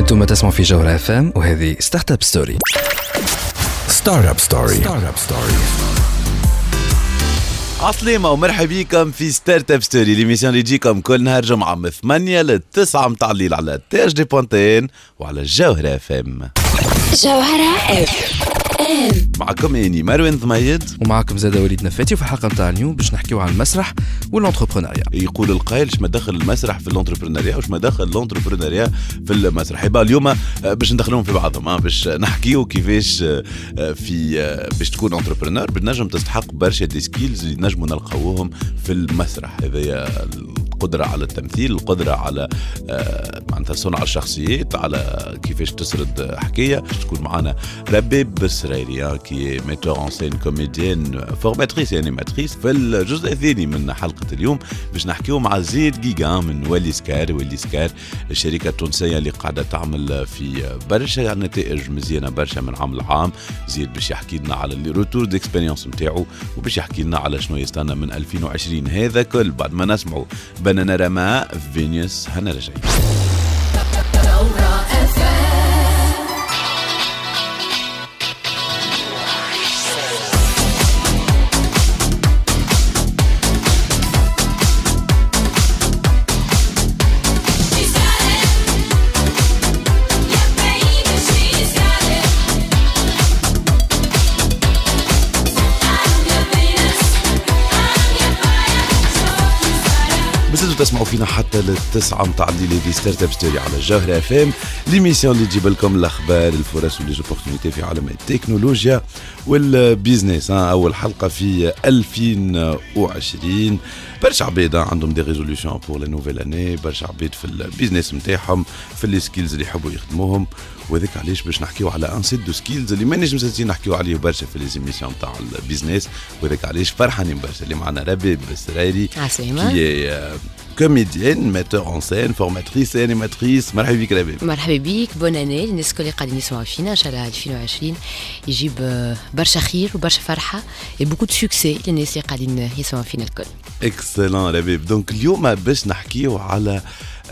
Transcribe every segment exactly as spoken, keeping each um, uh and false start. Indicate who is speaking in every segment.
Speaker 1: انتم تسمعوا في جوهرة اف ام وهذه ستارت اب ستوري.
Speaker 2: ستارت اب ستوري. ستارت اب ستوري.
Speaker 3: عسلامة ومرحبا بكم في ستارت اب ستوري، ليميسيون اللي تجيكم كل نهار جمعة من ثمانية لتسعة متاع الليل على تي اش دي بوانتين وعلى جوهرة اف ام.
Speaker 4: جوهرة اف ام
Speaker 3: معكم اني مروان ضميد
Speaker 1: ومعكم زاد وليد نفاتي. وفي الحلقة متاع اليوم باش نحكيو عن المسرح والانتربرونيا.
Speaker 3: يقول القائل اش ما دخل المسرح في الانتربرونيا وش ما دخل الانتربرونيا في المسرح. يبقى اليوم باش ندخلهم في بعضهم، باش نحكيو كيفاش في باش تكون انتربرونور بنجم تستحق برشا دي سكيلز اللي نجموا نلقاوهم في المسرح. هذا القدرة على التمثيل، القدرة على معناتها صنع الشخصيات، على كيفاش تسرد حكاية. تكون معنا رباب بسريري كي ميتور ان سين كوميديان فورماتريس يعني ماتريس. في الجزء الثاني من حلقة اليوم باش نحكيو مع زيد جيجا من وليسكار. وليسكار الشركة التونسية اللي قاعدة تعمل في برشا نتائج مزيانة برشا من عام لعام. زيد باش يحكي لنا على اللي روتور ديكسبيريونس نتاعو وباش يحكي لنا على شنو يستنى من ألفين وعشرين. هذا كل بعد ما نسمعوا بنانا رما فينيوس. هنا رجعين. تسمعوا فينا حتى للتسعة متاع الليل في ستارت اب ستوري على جوهرة اف ام، ليميسيون اللي تجيب لكم الاخبار، الفرص والليزوبورتينيتي في عالم التكنولوجيا والبيزنس. اول حلقه في ألفين وعشرين. برشا عباد عندهم دي ريزوليوشن بور لا نوفيل اني، برشا عباد في البيزنس نتاعهم، في لي سكيلز اللي يحبوا يخدموهم. وذاك علاش باش نحكيو على ان سيت دو سكيلز اللي ما نجمش نحكيو عليه برشا في لي زيميسيون تاع البيزنس. وذاك علاش فرحانين برشا اللي معنا رباب بسريري كي كوميديان ميتور ان سين فورماتريس انيماتريس. مرحبا بك رباب.
Speaker 5: مرحبا بك، بون اني الناس الكل قاعدين يسمعوا فينا. ان شاء الله ألفين وعشرين يجيب برشا خير وبرشا فرحه وبوكو دو سوكسي للناس اللي قاعدين يسمعوا فينا الكل.
Speaker 3: اكسلون رباب. دونك اليوم باش نحكيو على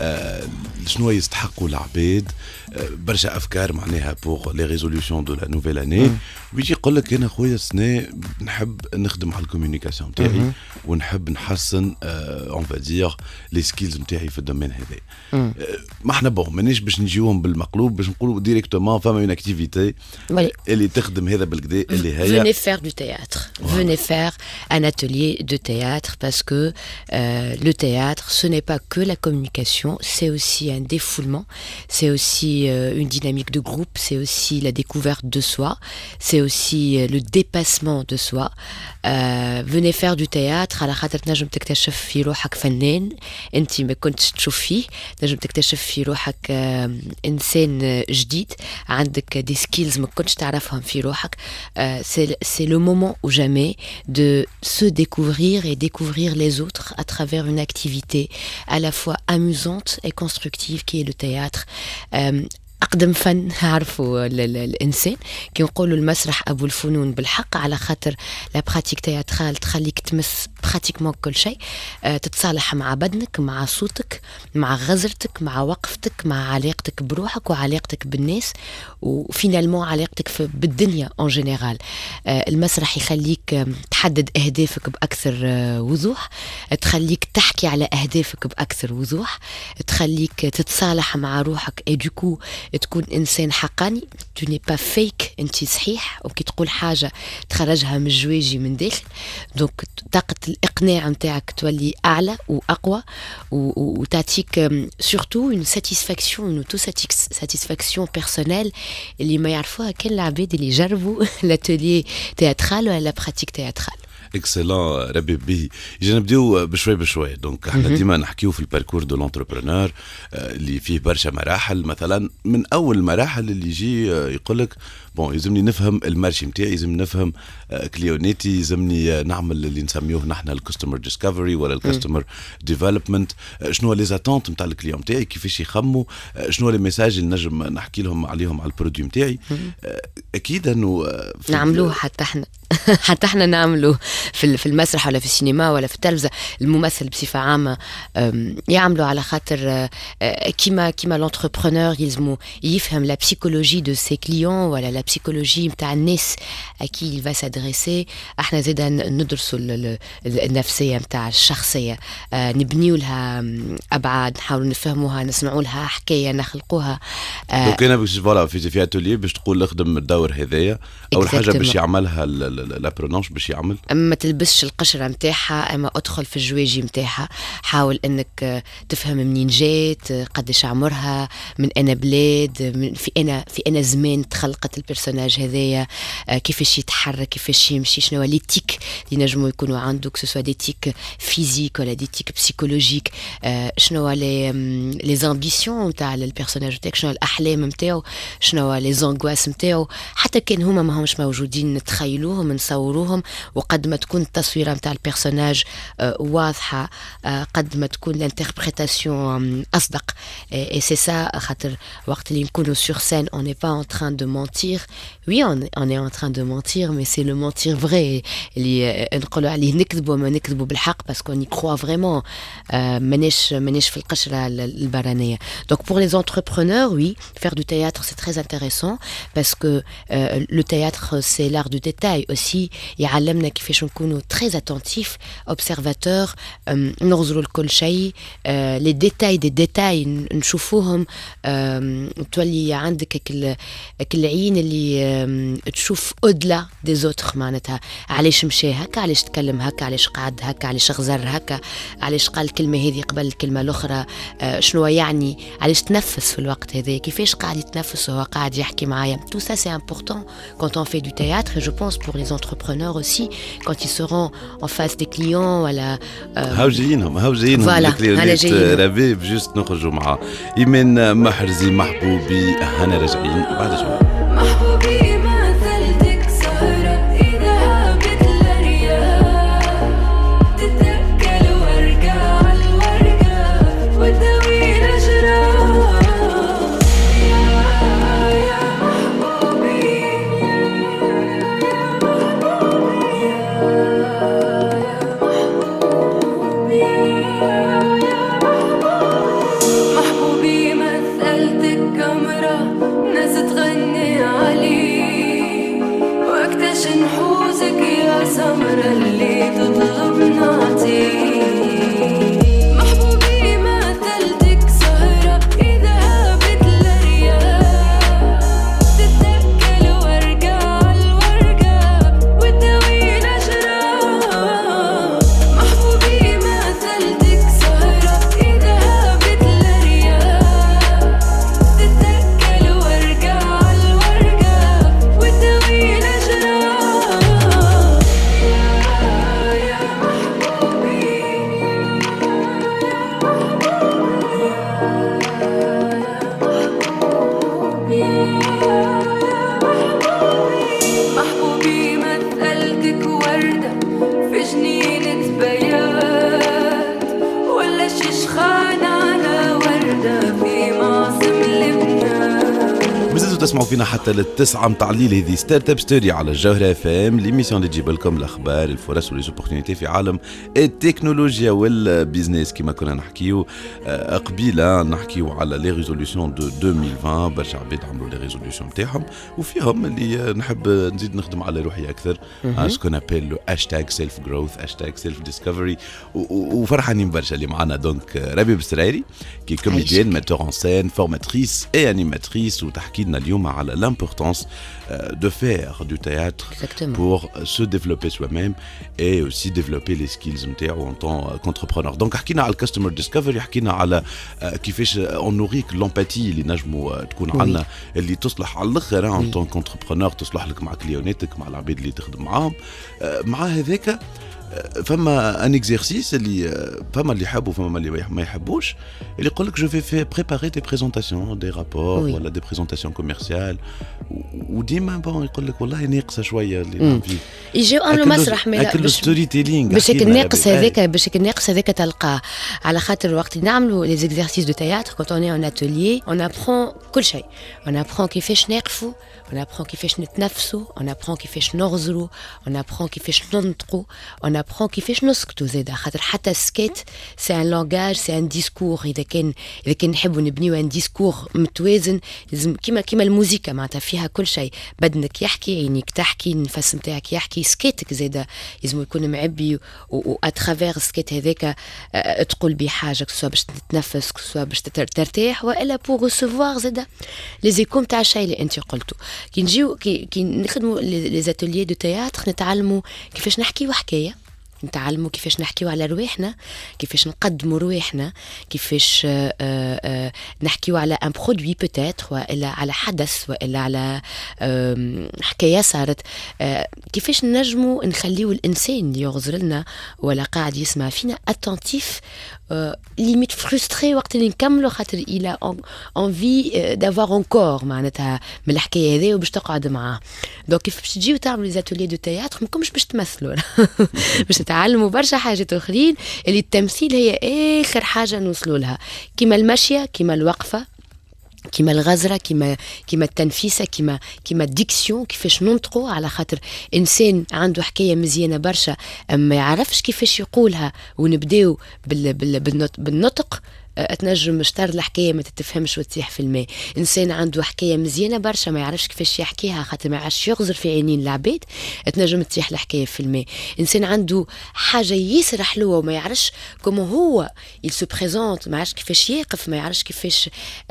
Speaker 3: آه شنو يستحقوا العباد. آه برشا افكار معناها بور لي ريزوليوشن دو لا نوفيل اني. ويجي يقول لك انا خويا السنه نحب نخدم على الكوميونيكاسيون تاعي ونحب نحسن اون فا دير لي سكيلز نتاعي في الدومين هذا. آه ما احنا بون مانيش باش نجيوهم بالمقلوب، باش نقولوا ديريكتومون فما اون اكتيفيتي اللي تخدم هذا بالكدا اللي هي
Speaker 5: venez faire du théâtre. Venez faire un atelier de théâtre parce que euh, le théâtre ce n'est pas que la communication, c'est aussi un défoulement, c'est aussi euh, une dynamique de groupe, c'est aussi la découverte de soi, c'est aussi euh, le dépassement de soi. Euh, venez faire du théâtre على خاطر تنجم تكتشف في روحك فنان انت ما كنتش تشوف فيه، تنجم تكتشف في روحك آه انسان جديد، عندك دي سكيلز ما كنتش تعرفهم في روحك. euh, c'est, c'est le moment ou jamais de se découvrir et découvrir les autres à travers une activité à la fois amusante et constructive qui est le théâtre. euh, أقدم فن عرفوا الإنسان كي نقولوا المسرح أبو الفنون بالحق، على خاطر لا براتيك تياترال تخليك تمس براتيكمون كل شيء. أه تتصالح مع بدنك، مع صوتك، مع غزرتك، مع وقفتك، مع علاقتك بروحك وعلاقتك بالناس، وفينالمون علاقتك بالدنيا اون جينيرال. أه المسرح يخليك تحدد أهدافك بأكثر أه وضوح، تخليك تحكي على أهدافك بأكثر وضوح، تخليك تتصالح مع روحك اي دوكو تكون إنسان حقاني. tu n'es pas fake، أنت صحيح، وكي تقول حاجة تخرجها من الجواجي من داخل. دونك طاقة الإقناع متاعك تولي أعلى وأقوى وتعطيك surtout une satisfaction une auto-satisfaction personnelle اللي ما يعرفوها كان العباد اللي جربوا l'atelier théâtral ولا la pratique théâtrale.
Speaker 3: اكسلون ربي به. يجي نبداو بشوي بشوي. دونك احنا ديما نحكيو في الباركور دو لونتربرونور اللي فيه برشا مراحل. مثلا من اول المراحل اللي يجي يقولك بون يلزمني نفهم المارشي نتاعي، يلزمني نفهم كليونيتي، يلزمني نعمل اللي نسميوه نحن الكاستمر ديسكفري ولا الكاستمر ديفلوبمنت. شنو لي زاتونت نتاع الكليون نتاعي، كيفاش يخموا، شنو لي ميساج اللي نجم نحكي لهم عليهم على البرودوي نتاعي. اكيد انه
Speaker 5: نعملوه حتى احنا حتى احنا نعملوا في في المسرح ولا في السينما ولا في التلفزة. الممثل بصفة عامة يعملوا على خاطر كيما كيما لونتربرونور يلزمو يفهم لا بسيكولوجي دو سي كليون ولا لا بسيكولوجي نتاع الناس اكي il va s'adresser. احنا زيدا ندرسوا النفسية نتاع الشخصية، نبنيو لها ابعاد، نحاولوا نفهموها، نسمعوا لها حكاية، نخلقوها.
Speaker 3: دونك انا باش فوالا في في اتولي باش تقول اخدم الدور هذايا اول حاجة باش يعملها لابرونونش باش يعمل
Speaker 5: ما تلبسش القشرة متاعها، اما ادخل في الجواجي متاعها، حاول انك تفهم منين جات، قديش عمرها، من انا بلاد، من في انا في انا زمان تخلقت البرسوناج هذايا، كيفاش يتحرك، كيفاش يمشي، شنو هو ليتيك اللي نجموا يكونوا عنده، كو سوا ديتيك فيزيك ولا ديتيك بسيكولوجيك، شنو هو لي لي زامبيسيون نتاع البرسوناج نتاعك، شنو الاحلام نتاعو، شنو هو لي زانغواس نتاعو، حتى كان هما ما همش موجودين نتخيلوهم نصوروهم، وقد ما تكون التصويره نتاع البيرسوناج واضحه، قد ما تكون الانتربريتاسيون اصدق. اي سي سا خاطر وقت اللي نكونوا سور سين on n'est pas en train de mentir. Oui, on, on est en train de mentir, mais c'est le mentir vrai اللي نقولوا عليه نكذبوا ما نكذبوا بالحق parce qu'on y croit vraiment. مانيش مانيش في القشره البرانيه. Donc pour les entrepreneurs, oui, faire du théâtre c'est très intéressant parce que euh, le théâtre c'est l'art du détail aussi. يعلمنا كيفاش نكونوا très attentifs, observateurs, نغزروا لكل شيء، les détails des détails نشوفوهم، تولي عندك كل العين اللي تشوف أدلى دي زوتر، معناتها علاش مشى هكا، علاش تكلم هكا، علاش قعد هكا، علاش غزر هكا، علاش قال الكلمة هذه قبل الكلمة الأخرى، شنو يعني، علاش تنفس في الوقت هذا، كيفاش قاعد يتنفس وهو قاعد يحكي معايا. Tout ça c'est important quand on fait du théâtre et je pense pour les entrepreneurs aussi quand ils seront en face des clients ولا
Speaker 3: هاو جايينهم هاو جايينهم الكليونات ربي بجوست نخرجوا معاه. إيمان محرزي محبوبي هنا راجعين بعد شوي.
Speaker 6: محبوبي مثلتك سهرة إذا هابت للرياح، تتأكل وارجع الورقة وتداوي الأجراح. يا يا محبوبي محبوبي مثلتك كاميرا ناس تغني عليه، واكتش نحوزك يا سمرة اللي تطلب نعطيه. محبوبي مثلتك سهرة إذا هابت للرياح، تتأكل وارجع الورقة وتداوي الأجراح. محبوبي مثلتك سهرة إذا هابت للرياح، تتأكل وارجع الورقة وتداوي الأجراح. يا يا محبوبي محبوبي مثلتك وردة في جنينة بيات، ولا شيشخان على وردة في معصم لبنان.
Speaker 3: مازلتوا تسمعوا فينا حتى للتسعة متاع الليل. هذه ستارت اب ستوري على الجوهرة اف ام، ليميسيون اللي تجيب لكم الاخبار، الفرص وليزوبورتينيتي في عالم التكنولوجيا والبيزنس. كما كنا نحكيو قبيله نحكيو على لي ريزوليوشن دو ألفين وعشرين، برشا عباد عملوا لي ريزوليوشن نتاعهم، وفيهم اللي نحب نزيد نخدم على روحي اكثر، اسكو نابيل لو هاشتاغ سيلف جروث، هاشتاغ سيلف ديسكفري، وفرحانين برشا اللي معنا. دونك ربيب السرايري كي كوميديان، ميتور ان سين، فورماتريس اي انيماتريس، وتحكي لنا اليوم على l'importance de faire du théâtre Exactement. pour se développer soi-même et aussi développer les skills نتاعو en tant qu'entrepreneur. Donc حكينا على الكاستمر ديسكفري، حكينا على كيفاش اونوريك لومباتي اللي نجموا تكون oui. عندنا اللي تصلح على الاخر en tant qu'entrepreneur، تصلح لك مع كليوناتك، مع العباد اللي تخدم معاهم. مع هذاك فما ان اكزرسيس اللي فما اللي يحبوا فما اللي ما يحبوش، اللي يقول لك جو في في بريباري دي بريزونطاسيون دي رابور ولا دي بريزونطاسيون كوميرسيال، وديما بون يقول لك والله ناقصه شويه اللي نعمل فيه،
Speaker 5: يجيو عملوا مسرح
Speaker 3: مي لا ستوري تيلينغ
Speaker 5: باش الناقص هذاك باش الناقص هذاك تلقاه. على خاطر وقت اللي نعملوا لي زيكزارسيس دو تياتر كونت اون اي ان اتيليي اون ابرون كل شيء، اون ابرون كيفاش نقفوا on apprend كيفاش نتنفسوا, on apprend كيفاش نغزروا, on apprend كيفاش ننطقوا, on apprend كيفاش نسكتوا زادا, خاطر حتى السكيت c'est un langage, c'est un discours. إذا كان إذا كان نحبوا نبنيو un discours متوازن, لازم كيما كيما الموسيقى معناتها فيها كل شيء, بدنك يحكي, عينيك تحكي, النفس نتاعك يحكي, سكيتك زادا لازم يكون معبي, و اترافير السكيت هذاك تقول بيه حاجه, سواء باش تتنفس, سواء باش ترتاح, والا بور ريسيفوار زادا لي زيكوم تاع الشيء اللي انت قلته. كي نجيو كي, كي نخدموا لي زاتوليي دو تياتر, نتعلموا كيفاش نحكيو حكايه, نتعلموا كيفاش نحكيو على رواحنا, كيفاش نقدموا رواحنا, كيفاش آآ آآ نحكيو على ان برودوي بوتيتر, والا على حدث, والا على حكايه صارت, كيفاش نجموا نخليو الانسان اللي يغزر لنا ولا قاعد يسمع فينا اتنتيف, ليميت فرستري وقت اللي نكملوا, خاطر الى انفي دافوار انكور معناتها من الحكايه هذه وباش تقعد معاه. دونك كيف باش تجيو تعملوا لي زاتوليي دو تياتر, ماكمش باش تمثلوا باش تعلموا برشا حاجات اخرين اللي التمثيل هي اخر حاجه نوصلوا لها, كيما المشيه, كيما الوقفه, كيما الغزره, كيما كيما التنفيسه, كيما كيما الديكسيون, كيفاش ننطقوا, على خاطر انسان عنده حكايه مزيانه برشا ما يعرفش كيفاش يقولها, ونبداو بال بال بالنطق, اتنجم مشتر الحكايه ما تتفهمش وتسيح في الماء. انسان عنده حكايه مزيانه برشا ما يعرفش كيفاش يحكيها, خاطر ما يعرفش يغزر في عينين العباد, اتنجم تسيح الحكايه في الماء. انسان عنده حاجه ياسر حلوه وما يعرفش كومو هو il se présente, ما يعرفش كيفاش يقف, ما يعرفش كيفاش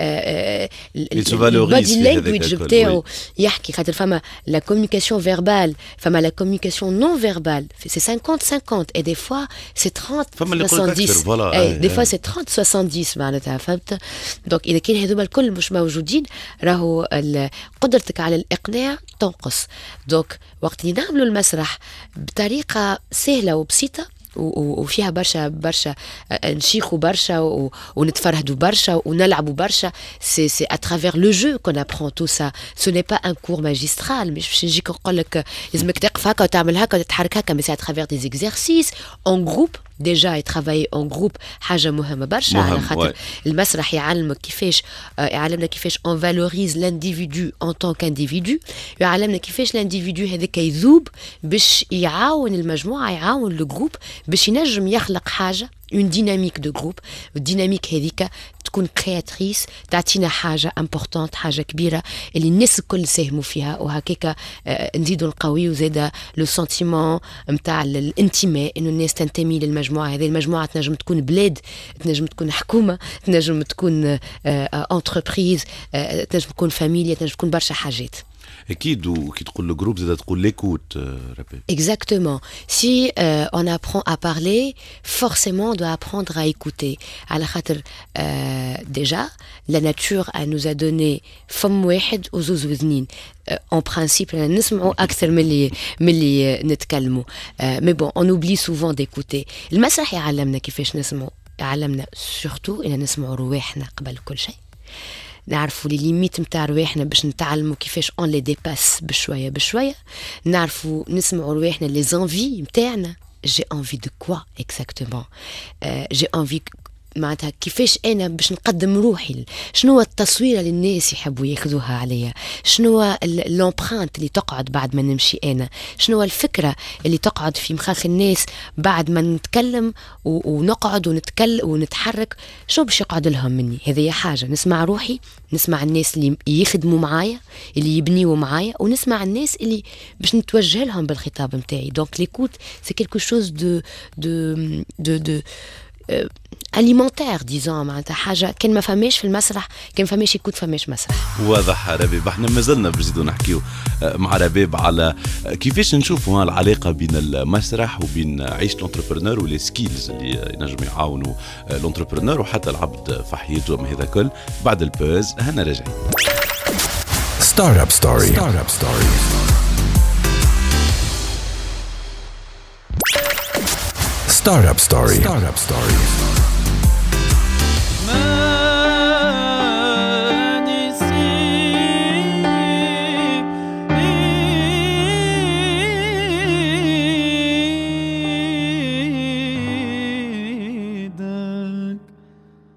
Speaker 5: البادي لانجويج بتاعو يحكي, خاطر فما لا كومونيكاسيون فيربال, فما لا كومونيكاسيون نون فيربال, سي خمسين خمسين, اي دي فوا سي ثلاثين سبعين, اي دي فوا سي ثلاثين سبعين معناتها, فهمت؟ دونك اذا كان هذوما الكل مش موجودين, راهو قدرتك على الاقناع تنقص. دونك وقت اللي نعملوا المسرح بطريقه سهله وبسيطه وفيها برشا برشا نشيخوا برشا ونتفرهدوا برشا ونلعبوا برشا, سي سي à travers le jeu qu'on apprend tout ça. Ce n'est pas un cours magistral, مش باش نجيك نقول لك لازمك تقف هكا وتعمل هكا وتتحرك هكا, mais c'est à travers des exercices en groupe. ديجا يترافاي اون جروب حاجه مهمه برشا, على خاطر المسرح يعلمك كيفاش, يعلمنا كيفاش اون فالوريز لانديفيدو ان طون كانديفيدو, يعلمنا كيفاش لانديفيدو هذاك يذوب باش يعاون المجموعه, يعاون لو جروب باش ينجم يخلق حاجه, اون ديناميك دو جروب. الديناميك هذيك تكون كرياتريس, تعطينا حاجه امبورطونت, حاجه كبيره اللي الناس الكل ساهموا فيها, وهكاك نزيدوا نقويوا زاده لو سنتيمون نتاع الانتماء, انه الناس تنتمي للمجموعه هذه. المجموعه تنجم تكون بلاد, تنجم تكون حكومه, تنجم تكون انتربريز, تنجم تكون فاميليا, تنجم تكون برشا حاجات.
Speaker 3: اكيد. وكي تقول الجروب زاد تقول ليكوت رابي.
Speaker 5: Exactement. Si euh, on apprend à parler, forcément on doit apprendre à écouter. على خاطر euh, déjà la nature elle nous a donné فم واحد وزوز وذنين. En principe نسمعوا أكثر من اللي من اللي نتكلموا. Mais bon, on oublie souvent d'écouter. المسرح يعلمنا كيفاش نسمعوا, يعلمنا surtout إن نسمعوا رواحنا قبل كل شيء. نعرفوا لي ليميت نتاع رواحنا باش نتعلموا كيفاش اون لي ديباس بشويه بشويه. نعرفوا نسمعوا رواحنا لي زانفي نتاعنا, جي انفي دو كوا اكزاكتومون, جي انفي معناتها كيفاش انا باش نقدم روحي, شنو التصويره اللي الناس يحبوا ياخذوها عليا, شنو لومبرانت اللي تقعد بعد ما نمشي انا, شنو الفكره اللي تقعد في مخاخ الناس بعد ما نتكلم ونقعد ونتكلم ونتحرك, شو باش يقعد لهم مني. هذه حاجه نسمع روحي, نسمع الناس اللي يخدموا معايا, اللي يبنيوا معايا, ونسمع الناس اللي باش نتوجه لهم بالخطاب نتاعي. دونك ليكوت سي كيلكو شوز دو دو دو دو alimentaire disons, معناتها حاجه كان ما فماش في المسرح, كان فماش يكون فماش مسرح.
Speaker 3: واضح ربيب. احنا مازلنا بنزيدوا نحكيو مع ربيب على كيفاش نشوفوا العلاقه بين المسرح وبين عيشه الانتربرونور ولي سكيلز اللي ينجموا يعاونوا الانتربرونور وحتى العبد في حياته وما هذا كل. بعد البوز هنا راجعين.
Speaker 2: ستارت اب ستوري. ستارت اب ستوري. Startup Story. Startup Story.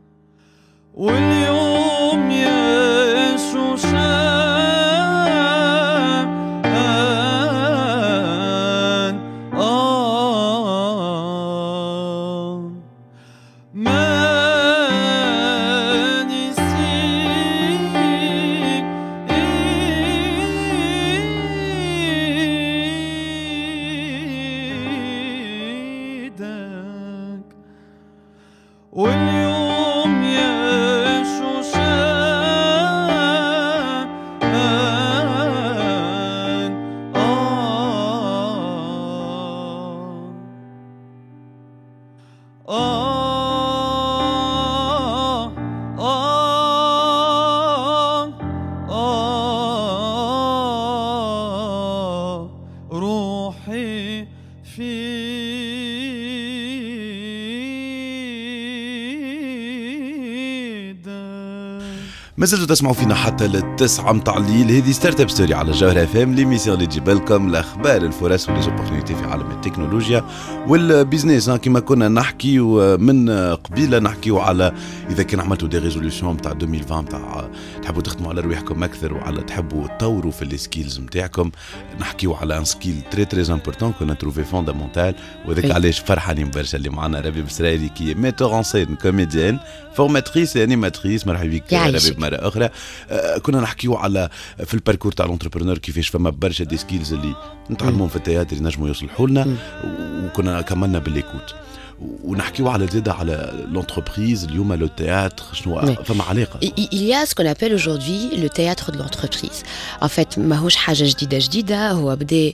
Speaker 7: واليوم يا شوشان واليوم يا شوشان آه آه
Speaker 3: ما زلتوا تسمعوا فينا حتى للتسعة متاع الليل. هذه ستارت اب ستوري على جوهر اف ام، ليميسيون اللي تجيب لكم الاخبار الفرص وليزوبورتينيتي في عالم التكنولوجيا والبيزنس. كما كنا نحكي من قبيله نحكيو على اذا كان عملتوا دي ريزوليوشن تاع ألفين وعشرين تاع تحبوا تخدموا على رواحكم اكثر وعلى تحبوا تطوروا في السكيلز نتاعكم. نحكيو على ان سكيل تري تري امبورطون كنا تروفي فوندامونتال، وذاك علاش فرحانين برشا اللي معنا ربيب السرايلي كي ميتور ان سين كوميديان فورماتريس انيماتريس. مرحبا بك ربيب مرة أخرى. آه كنا نحكيو على في الباركور تاع الانتربرونور كيفاش فما برشا دي سكيلز اللي نتعلموهم في التياتر ينجموا يوصلوا لنا، وكنا كملنا بالليكوت ونحكيو على زيادة على l'entreprise اليوم لو تhéâtre شنو فما علاقة.
Speaker 5: Il y a ce qu'on appelle aujourd'hui le théâtre de l'entreprise. En fait ماهوش حاجة جديدة جديدة، هو بدأ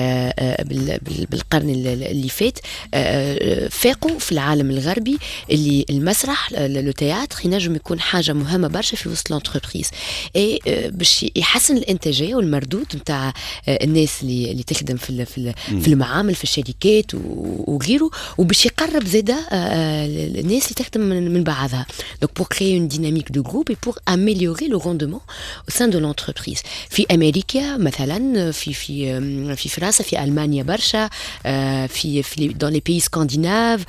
Speaker 5: بالقرن اللي فات. فاقوا في العالم الغربي اللي المسرح لو تhéâtre ينجم يكون حاجة مهمة برشا في وسط l'entreprise، اي باش يحسن الانتاجية والمردود نتاع الناس اللي اللي تخدم في في المعامل في الشركات وغيره، وباش يقرب زيادة الناس اللي تخدم من بعضها. Donc pour créer une dynamique de groupe et pour améliorer le rendement au sein de l'entreprise. في أمريكا مثلا، في في في فرنسا، في ألمانيا برشا، في في dans les pays scandinaves.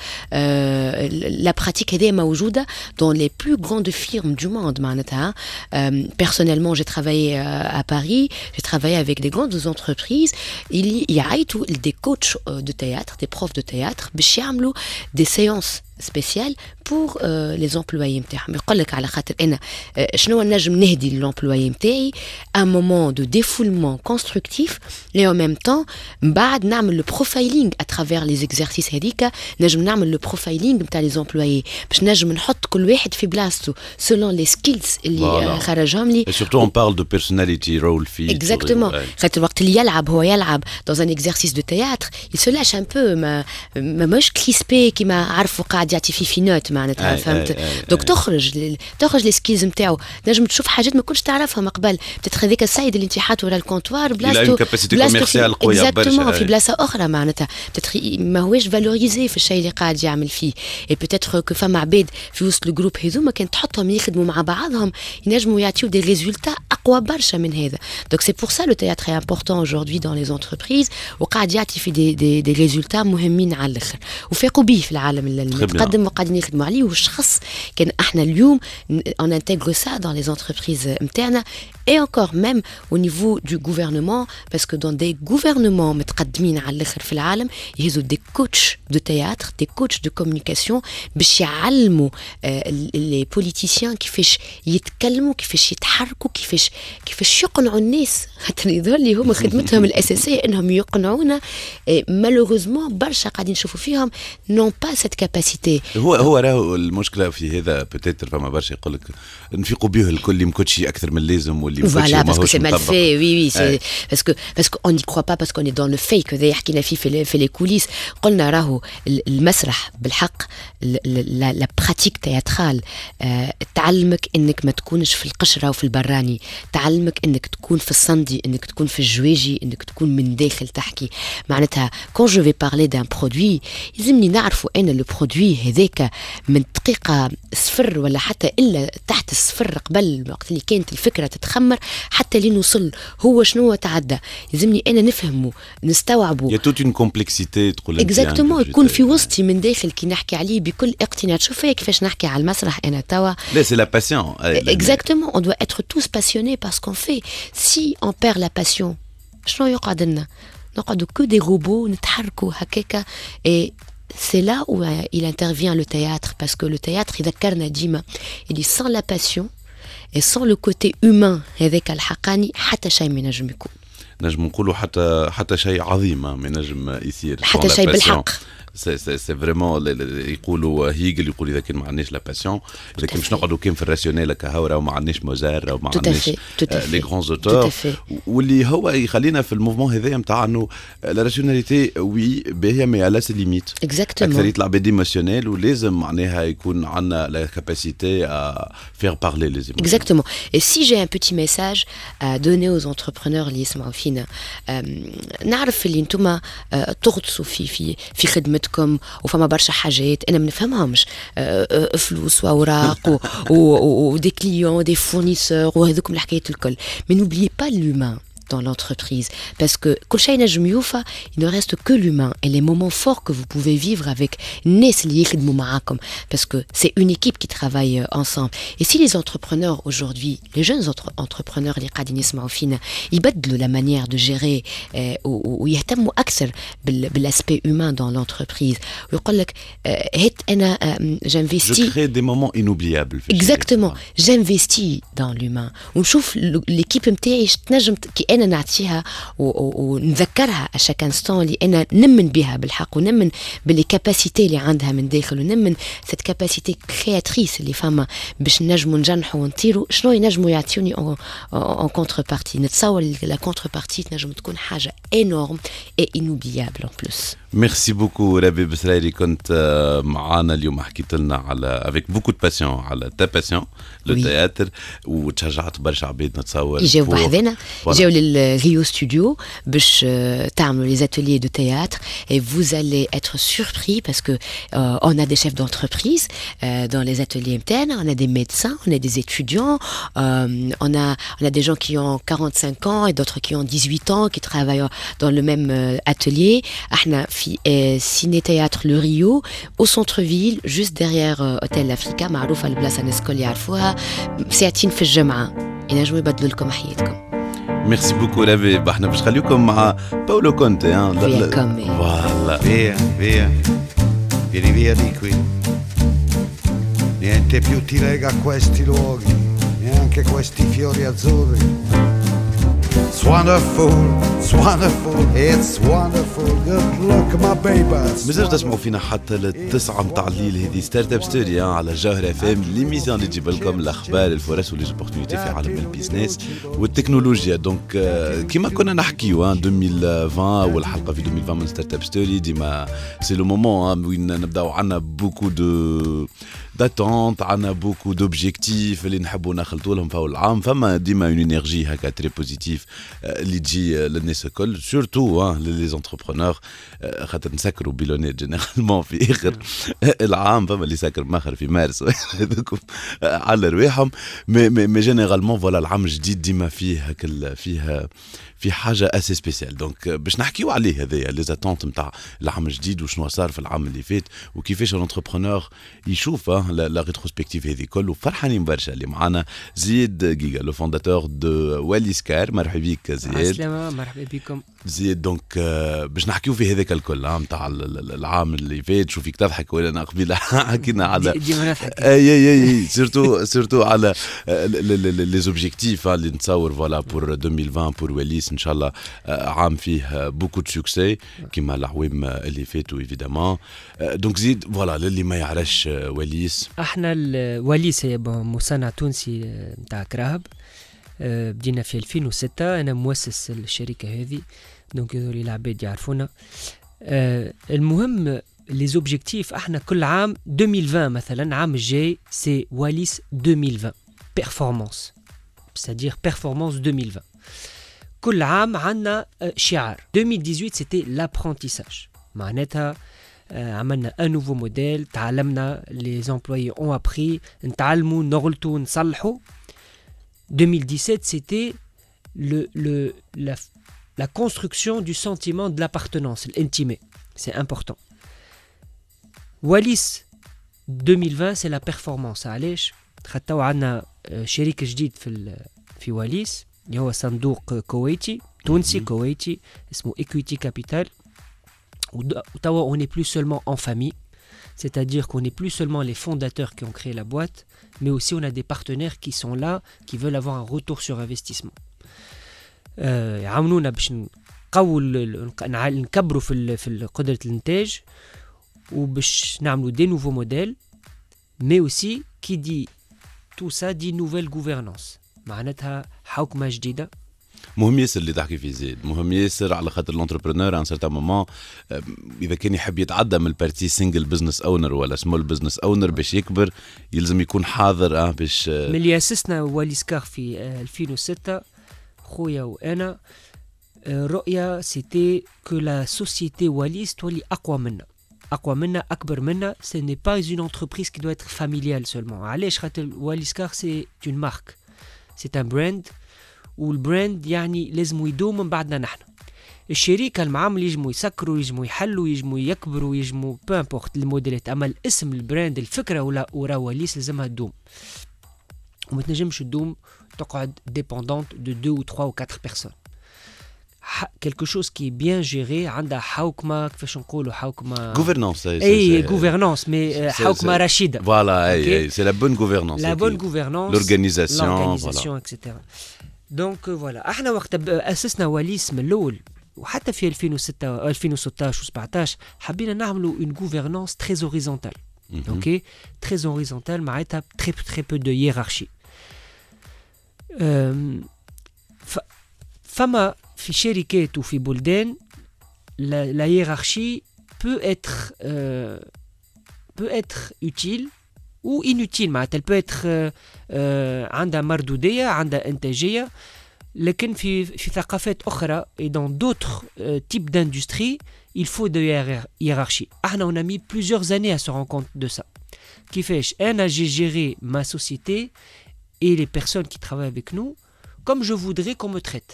Speaker 5: La pratique هذه موجودة dans les plus grandes firmes du monde معناتها. Personnellement j'ai travaillé à Paris, j'ai travaillé avec des grandes entreprises. Il y a des coachs de théâtre, des profs de théâtre باش يعملوا des séances spéciales pour euh, les employés نتاعهم. يقول لك على خاطر انا شنو نجم نهدي للامبلويي نتاعي un moment de défoulement constructif et en même temps بعد نعمل le profiling à travers les exercices هذيك. نجم نعمل le profiling نتاع les employés باش نجم نحط كل واحد في بلاصته selon les skills اللي voilà. خرجهم لي.
Speaker 3: Et surtout on parle de personality role fit.
Speaker 5: Exactement. خاطر وقت اللي يلعب هو يلعب dans un exercice de théâtre il se lâche un peu ما ما مش crispé كيما عرفوا قاعد يعطي فيه في نوت معناتها فهمت. دونك تخرج تخرج لي سكيلز نتاعو، نجم تشوف حاجات ما كنتش تعرفها من قبل. بتتخ هذيك السيد اللي انت حاطه ورا الكونتوار بلاصتو بلاصتو قويه برشا في بلاصه اخرى معناتها بتتخ ما هوش فالوريزي في الشيء اللي قاعد يعمل فيه. اي بوتيتر كو فما عباد في وسط الجروب هذوما كان تحطهم يخدموا مع بعضهم ينجموا يعطيو دي ريزولتا اقوى برشا من هذا. دونك سي بور سا لو تhéâtre est important aujourd'hui dans les entreprises وقاعد يعطي في دي دي دي ريزولتا مهمين على الاخر وفاقوا به في العالم المتقدم وقاعدين يخدموا عليه. والشخص كان احنا اليوم on intègre ça dans les entreprises internes et encore même au niveau du gouvernement parce que dans des gouvernements متقدمين على الاخر في العالم يهزوا des coachs de théâtre, des coachs de communication باش يعلموا les politiciens كيفاش يتكلموا كيفاش يتحركوا كيفاش كيفاش يقنعوا الناس. خاطر يظهر لي هما خدمتهم الاساسيه انهم يقنعونا. malheureusement برشا قاعدين نشوفوا فيهم non pas cette capacité.
Speaker 3: هو هو راهو المشكله في هذا بوتيتر فما برشا يقول لك نفيقوا به الكل مكوتشي اكثر من اللازم واللي مكوتشي
Speaker 5: ماهوش مطبق. Voilà parce que c'est mal fait. Oui oui c'est parce que parce qu'on n'y croit pas parce qu'on est dans le fake. هذا حكينا فيه في في لي كوليس. قلنا راهو المسرح بالحق لا براتيك تياترال تعلمك انك ما تكونش في القشره وفي البراني، تعلمك انك تكون في الصندي، انك تكون في الجواجي، انك تكون من داخل تحكي. معناتها quand je vais parler d'un produit يلزمني نعرفوا انا لو برودوي هذاك من دقيقه صفر ولا حتى الا تحت الصفر قبل وقت اللي كانت الفكره تتخمر حتى لين نوصل هو شنو تعدى. يلزمني انا نفهمه نستوعبه.
Speaker 3: يا توت اون كومبلكسيتي تقول
Speaker 5: اكزاكتومون يكون في وسطي من داخل كي نحكي عليه بكل اقتناع. تشوف كيفاش نحكي على المسرح انا توا.
Speaker 3: لا سي لا باسيون.
Speaker 5: اكزاكتومون on doit être tous passionnés par ce qu'on fait. Si on perd la passion شنو يقعد لنا؟ نقعدوا كو دي روبو نتحركوا هكاكا. et c'est là où il intervient le théâtre parce que le théâtre يذكرنا ديما اللي sans la passion et sans le côté humain هذاك الحقاني حتى شيء ما نجم يكون.
Speaker 3: نجم نقولوا حتى حتى شيء عظيم ما نجم يصير
Speaker 5: حتى شيء بالحق.
Speaker 3: سي سي سي فريمون يقولوا هيجل يقول اذا كان ما عندناش لا باسيون اذا كان باش نقعدوا كان في الراسيونيل هكا هاو راه ما عندناش موزار راه ما عندناش لي غران اوتور واللي هو يخلينا في الموفمون هذايا نتاع انه لا راسيوناليتي وي باهيه مي على سي ليميت
Speaker 5: اكزاكتومون
Speaker 3: اكثريه العباد ايموسيونيل ولازم معناها يكون عندنا لا كاباسيتي ا فير بارلي لي ايموسيون
Speaker 5: Exactement. Et si j'ai un petit message à donner aux entrepreneurs اللي يسمعوا فينا نعرف اللي انتم تغطسوا في في في خدمتكم وفما برشا حاجات انا ما نفهمهمش فلوس واوراق ودي كليون دي فورنيسور وهذوكم الحكايات الكل. Mais n'oubliez pas l'humain dans l'entreprise parce que كل شيء نجم يوفى il ne reste que l'humain et les moments forts que vous pouvez vivre avec الناس اللي يخدموا معاكم parce que c'est une équipe qui travaille ensemble. Et si les entrepreneurs aujourd'hui les jeunes entre- entrepreneurs اللي قاعدين يسمعوا فينا يبدلوا la manière de gérer ويهتموا أكثر بالaspect humain dans l'entreprise ويقول لك هات أنا j'investis
Speaker 3: Je crée des moments inoubliables.
Speaker 5: Exactement, j'investis dans l'humain ونشوف l'équipe نتاعي تنجم كي انا نعطيها ونذكرها à chaque instant اللي انا نمن بها بالحق ونمن باللي كاباسيتي اللي عندها من داخل ونمن cette كاباسيتي كرياتريس اللي فما باش نجموا نجنحوا ونطيروا شنو ينجموا يعطيوني en contrepartie. نتصور la contrepartie تنجم تكون حاجه énorme et inoubliable en plus.
Speaker 3: ميرسي بوكو ربي بسرايري كنت معانا اليوم حكيت لنا على افيك بوكو دو باسيون على تا باسيون لو تياتر وتشجعت برشا عباد نتصور
Speaker 5: يجاو بحذنا يجاو للريو ستوديو باش تعملوا les ateliers de théâtre et vous allez être surpris parce que euh, on a des chefs d'entreprise euh, dans les ateliers internes, on a des médecins, on a des étudiants, euh, on a on a des gens qui ont quarante-cinq ans et d'autres qui ont dix-huit ans qui travaillent dans le même euh, atelier. احنا في سيني تياتر لو ريو au centre-ville juste derrière هوتيل افريكا معروفه البلاصه الناس الكل يعرفوها ساعتين في الجمعه ينجموا يبدلوا لكم حياتكم.
Speaker 3: ميرسي بوكو ربي احنا باش نخليكم مع باولو كونتي ها
Speaker 5: فوالا
Speaker 8: via via vieni via di qui niente più ti lega a questi luoghi neanche questi fiori azzurri. It's wonderful, it's wonderful, it's wonderful. Good luck my babies.
Speaker 3: مازال تسمعوا فينا حتى للتسعة متاع الليل هذه ستارت اب ستوري على الجوهرة اف ام ليميزيون اللي تجيب لكم الاخبار الفرص وليزوبورتينيتي في عالم البيزنس والتكنولوجيا. دونك كيما كنا نحكيو ألفين وعشرين والحلقه في ألفين وعشرين من ستارت اب ستوري ديما سي لو مومون وين نبداو عندنا بوكو دو داتونت عندنا بوكو دوبجيكتيف اللي نحبوا نخلطوا لهم فوق العام فما ديما اون انرجي هكا تري بوزيتيف اللي تجي للناس الكل سورتو لي زونتربرونور خاطر نسكروا بيلونيت جينيرالمون في اخر العام فما اللي ساكر ماخر في مارس هذوكم على رواحهم مي مي جينيرالمون فوالا العام الجديد ديما فيه هكا فيها في حاجه اسي سبيسيال. دونك باش نحكيو عليه هذايا لي زاتونت نتاع العام الجديد وشنو صار في العام اللي فات وكيفاش الانتربرونور يشوف لا ريتروسبكتيف هذه كل وفرحانين برشا اللي معنا زيد جيجا لو فونداتور دو واليس كار. مرحبا بك زيد.
Speaker 9: السلامة مرحبا بكم
Speaker 3: زيد. دونك باش نحكيو في هذاك الكل نتاع العام اللي فات. شوفيك تضحك ولا انا قبيله حكينا على
Speaker 9: ديما نضحك
Speaker 3: اي اي اي سورتو سورتو على لي زوبجيكتيف اللي نتصور فوالا بور ألفين وعشرين بور واليس ان شاء الله عام فيه بوكو دو سوكسي كيما العوام اللي فاتوا ايفيدامون. دونك زيد فوالا للي ما يعرفش واليس
Speaker 9: احنا واليس هي مصنع تونسي نتاع كراهب بدينا في ألفين وستة. انا مؤسس الشركه هذه دونك هذول العباد يعرفونا. المهم لي زوبجيكتيف احنا كل عام ألفين وعشرين مثلا عام الجاي سي واليس ألفين وعشرين بيرفورمانس c'est-à-dire performance ألفين وعشرين. كل عام عندنا شعار. ألفين وثمانية عشر سيتي l'apprentissage معناتها عملنا un nouveau modèle تعلمنا les employés ont appris نتعلموا نغلطوا نصلحوا. ألفين وسبعة عشر c'était le, le, la, la construction du sentiment de l'appartenance, l'intimé. C'est important. Wallis ألفين وعشرين c'est la performance. علاش؟ خاطر عندنا شريك جديد في في واليس اللي هو صندوق كويتي تونسي كويتي اسمه Equity Capital. وتوا on n'est plus seulement en famille, c'est-à-dire qu'on n'est plus seulement les fondateurs qui ont créé la boîte, mais aussi on a des partenaires qui sont là, qui veulent avoir un retour sur investissement. يعاونونا باش نقووا نكبروا في في قدرة الإنتاج وباش نعملوا دي نوفو موديل مي اوسي كي دي تو سا دي نوفيل غوفرنانس معناتها حوكمه جديده.
Speaker 3: مهم ياسر اللي تحكي فيه زيد، مهم ياسر على خاطر الانتربرونور ان سيرتان مومون اذا كان يحب يتعدى من البارتي سينجل بزنس اونر ولا سمول بزنس اونر باش يكبر يلزم يكون حاضر اه باش
Speaker 9: ملي اسسنا واليسكار في ألفين وستة خويا وانا الرؤيه سيتي كو لا سوسيتي واليس تولي اقوى منا اقوى منا اكبر منا. سي ني با اون انتربريز كي دو اتر فاميليال سولمون. علاش؟ خاطر واليسكار سي اون مارك سي ان براند والبراند يعني لازم يدوم من بعدنا نحن. الشركه المعامل يجموا يسكروا يجموا يحلوا يجموا يكبروا يجموا بو امبورت الموديلات، اما الاسم البراند الفكره ولا ورا وليس لازمها تدوم وما تنجمش تدوم تقعد ديبوندونت دو دو و تخوا و كاتر بيرسون. quelque chose qui est bien géré عندها حوكمه كيفاش نقولوا حوكمه
Speaker 3: gouvernance
Speaker 9: اي gouvernance mais حوكمه رشيده.
Speaker 3: voilà اي c'est la bonne gouvernance
Speaker 9: la bonne gouvernance
Speaker 3: l'organisation
Speaker 9: l'organisation et cetera. دونك فوالا احنا وقت اسسنا وليس من الاول وحتى في ألفين وستة ألفين وستطاش وسبعطاش حبينا نعملوا une gouvernance très horizontale. اوكي très horizontale معناتها très très peu de hiérarchie. فما في شركات وفي بلدان la hiérarchie peut être euh, peut être utile ou inutile معناتها elle peut être euh, euh, عندها مردودية عندها إنتاجية. لكن في في ثقافات أخرى et dans d'autres euh, types d'industries il faut de hiérarchie. احنا on a mis plusieurs années à se rendre compte de ça. كيفاش أنا j'ai géré ma société et les personnes qui travaillent avec nous comme je voudrais qu'on me traite.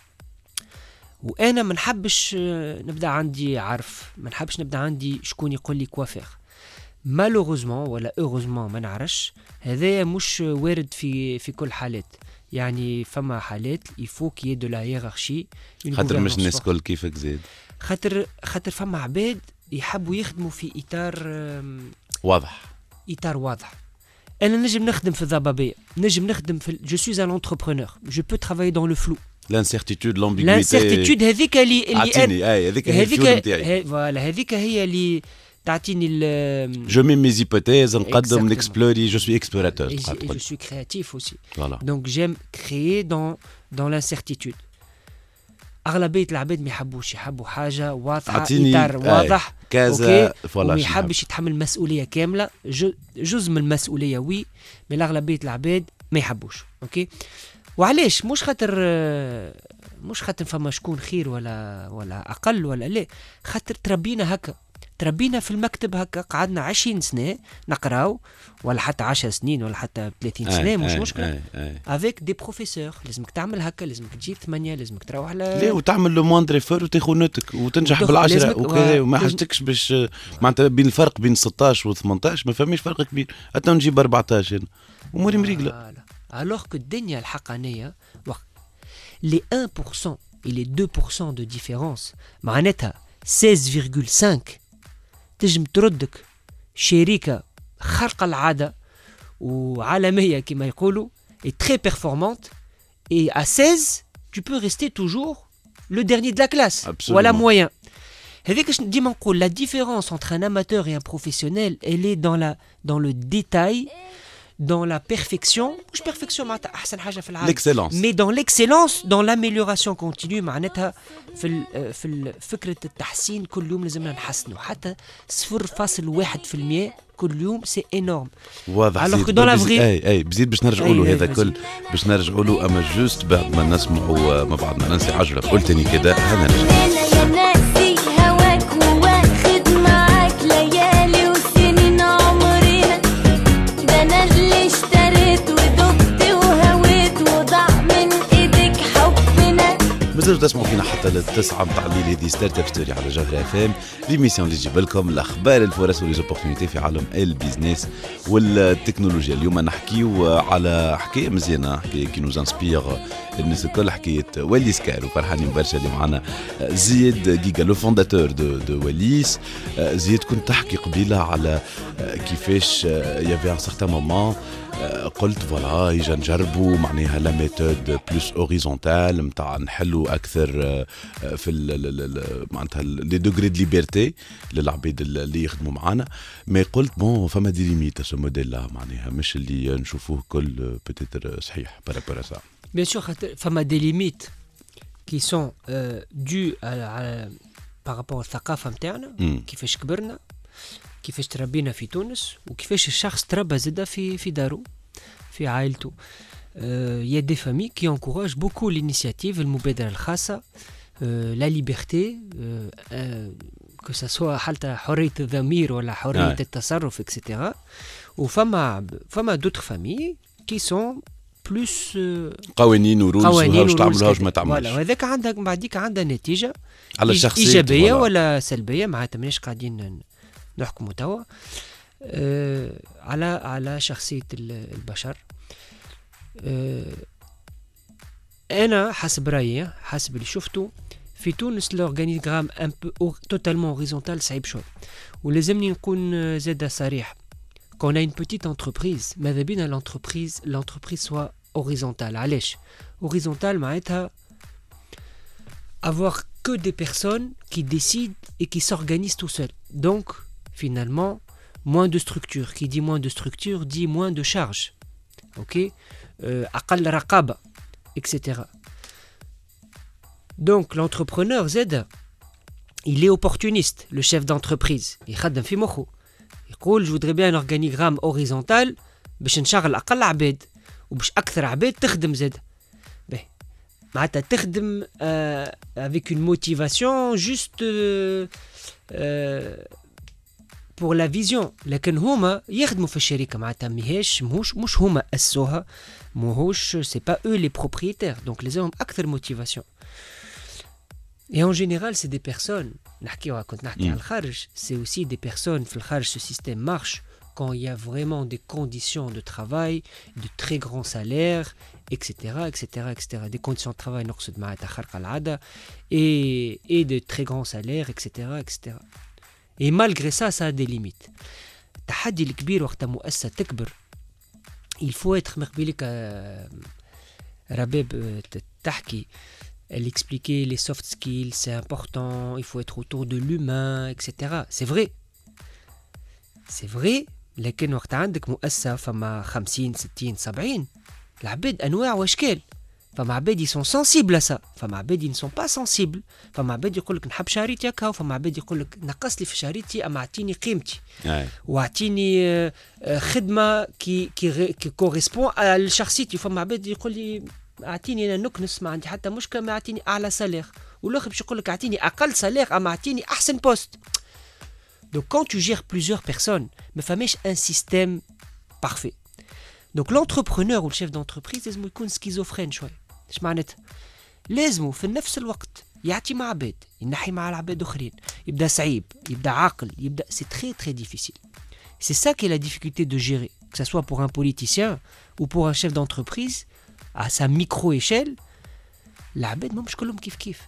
Speaker 9: وانا ما نحبش نبدا عندي عرف، ما نحبش نبدا عندي شكون يقول لي كوافير. مالوغوزمون ولا اوغوزمون ما نعرفش، هذا مش وارد في في كل حالات. يعني فما حالات يفو كي دو لا هيرارشي
Speaker 3: خاطر مش الناس كل كيفك زيد،
Speaker 9: خاطر خاطر فما عباد يحبوا يخدموا في اطار
Speaker 3: واضح
Speaker 9: اطار واضح. انا نجم نخدم في الضبابيه، نجم نخدم في جو سوي ان انتربرونور، جو بو ترافاي دون لو فلو.
Speaker 3: لانسيرتيتود لامبيغويتي
Speaker 9: لانسيرتيتود هذيك اللي اللي
Speaker 3: عطيني اي هذيك هي الفيول نتاعي.
Speaker 9: فوالا هذيك هي اللي تعطيني ال
Speaker 3: جو مي مي زيبوتيز نقدم نكسبلوري جو سوي اكسبلوراتور
Speaker 9: جو سوي كرياتيف اوسي.
Speaker 3: فوالا
Speaker 9: دونك جيم كريي دون دون لانسيرتيتود. اغلبيه العباد ما يحبوش، يحبوا حاجه واضحه اطار واضح
Speaker 3: كذا فوالا،
Speaker 9: وما يحبش يتحمل مسؤوليه كامله. جزء من المسؤوليه وي مي اغلبيه العباد ما يحبوش. اوكي وعلاش؟ مش خاطر مش خاطر فما شكون خير ولا ولا اقل ولا لا، خاطر تربينا هكا، تربينا في المكتب هكا، قعدنا عشرين سنه نقراو ولا حتى عشر سنين ولا حتى ثلاثين سنه مش مشكله افيك دي بروفيسور. لازمك تعمل هكا، لازمك تجيب ثمانية، لازمك تروح على
Speaker 3: لا وتعمل لو موندر ايفور وتاخذ نوتك وتنجح بالعشره وكذا وما حاجتكش باش معناتها بين الفرق بين ستطاش و ثمنطاش ما فماش فرق كبير، حتى نجيب أربعطاش هنا اموري مريقله.
Speaker 9: alors que الدنيا الحقانيه les un pour cent et les deux pour cent de différence معناتها seize virgule cinq تجم تردك شركة خارقة العادة وعالمية كما يقولوا et très performante, et à seize tu peux rester toujours le dernier de la classe.
Speaker 3: Absolument.
Speaker 9: Voilà moyen. هذيك ديما نقول la différence entre un amateur et un professionnel elle est dans la dans le détail, dans la perfection, مش perfection معناتها أحسن حاجة في العالم.
Speaker 3: L'excellence.
Speaker 9: Mais dans l'excellence, dans l'amélioration continue معناتها في في فكرة التحسين كل يوم لازمنا نحسنوا حتى صفر فاصل واحد في المية كل يوم سي énorme.
Speaker 3: واضح.
Speaker 9: Alors que dans la vraie.
Speaker 3: أي أي بزيد باش نرجعوا له هذا كل باش نرجعوا له أما جوست بعد ما نسمعوا ما بعد ما ننسى عجلة قلتني كده هذا نرجع. مازالوا تسمعوا فينا حتى للتسعة متاع الليل. هذه ستارت اب ستوري على جوهر اف ام، ليميسيون اللي تجيب لكم الاخبار الفرص وليزوبورتينيتي في عالم البيزنس والتكنولوجيا. اليوم نحكيو على حكايه مزيانه، حكايه كي نوز انسبير الناس الكل، حكايه وليس كار. وفرحانين برشا اللي معنا زيد جيجا لو فونداتور دو دو وليس. زيد كنت تحكي قبيله على كيفاش يافي ان سارتان مومون قلت فوالا يجا نجربوا معناها لا ميثود بلوس اوريزونتال نتاع نحلوا اكثر في معناتها لي دوغري دو ليبرتي للعباد اللي يخدموا معنا. مي قلت بون فما دي ليميت سو موديل لا معناها مش اللي نشوفوه كل بوتيتر صحيح بارابور سا.
Speaker 9: بيان سور فما دي ليميت كي سون دو بارابور الثقافه نتاعنا كيفاش كبرنا كيفاش تربينا في تونس وكيفاش الشخص تربى زاده في في دارو في عائلته. Il y a des familles qui encouragent beaucoup l'initiative المبادرة الخاصة la liberté que ça soit حتى حرية الضمير ولا حرية التصرف et cetera. وفما فما d'autres familles qui sont plus
Speaker 3: قوانين ورولز وهاوش تعمل هاوش ما تعملش.
Speaker 9: ولا وهذاك عندك بعديك عندها نتيجة
Speaker 3: على الشخصية
Speaker 9: إيجابية ولا سلبية معناتها ماناش قاعدين نحكموا توا أه على على شخصية البشر. أه أنا حسب رأيي حسب اللي شفته في تونس الأورغانيغرام ان بو توتالمون هوريزونتال صعيب شوي ولازمني نكون زاده صريح. كون اون بوتيت انتربريز ماذا بينا لونتربريز لونتربريز سوا هوريزونتال. علاش هوريزونتال معناتها avoir que des personnes qui décident et qui s'organisent tout seuls. Donc finalement moins de structure. Qui dit moins de structure dit moins de charge. Ok, أقل رقابة et cetera. Donc l'entrepreneur Z, il est opportuniste, le chef d'entreprise. Il خدم في مخه. يقول je voudrais bien un organigramme horizontal باش نشغل أقل عباد وباش أكثر عباد تخدم زاد. به معناتها تخدم euh, avec une motivation juste euh, euh, pour la vision. لكن هما يخدموا في الشركة معناتها ماهيش مش مش هما أسسوها ماهوش c'est pas eux les propriétaires. Donc les hommes أكثر motivation. Et en général, c'est des personnes, c'est aussi des personnes, ce système marche quand il y a vraiment des conditions de travail, de très grands salaires, et cetera, et cetera, et cetera. Des conditions de travail et, et de très grands salaires, et cetera, et cetera. Et malgré ça, ça a des limites. التحدي الكبير وقت مؤسسة تكبر il faut être مقبلك رباب تحكي. Elle expliquait les soft skills, c'est important, il faut être autour de l'humain, et cetera. C'est vrai. C'est vrai, لكن وقت عندك مؤسسة فما خمسين ستين سبعين العباد أنواع وأشكال. فما عباد sont sensibles à ça. فما عباد ne sont pas sensibles. فما عباد يقولك نحب شهريتي هكا وفما عباد يقولك نقص لي في شهريتي أما أعطيني قيمتي. وأعطيني خدمة كي كي كي كوريسبون لشخصيتي. فما عباد يقول لي اعطيني انا نكنس ما عندي حتى مشكله ما اعطيني اعلى سالير والاخر باش يقول لك اعطيني اقل سالير اما اعطيني احسن بوست. Donc quand tu gères plusieurs personnes ما فماش un système parfait. Donc l'entrepreneur ou le chef d'entreprise لازم يكون سكيزوفرين شوي. ايش معناتها؟ لازم في نفس الوقت يعطي مع عباد ينحي مع العباد اخرين يبدا صعيب يبدا عاقل يبدا c'est très très difficile. C'est ça qui est la difficulté de gérer que ça soit pour un politicien ou pour un chef d'entreprise à sa micro-échelle. العباد ما مش كلهم كيف كيف.